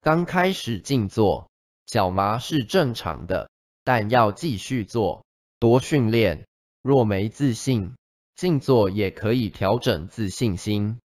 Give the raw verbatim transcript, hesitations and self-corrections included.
刚开始静坐，脚麻是正常的，但要继续做，多训练。若没自信，静坐也可以调整自信心。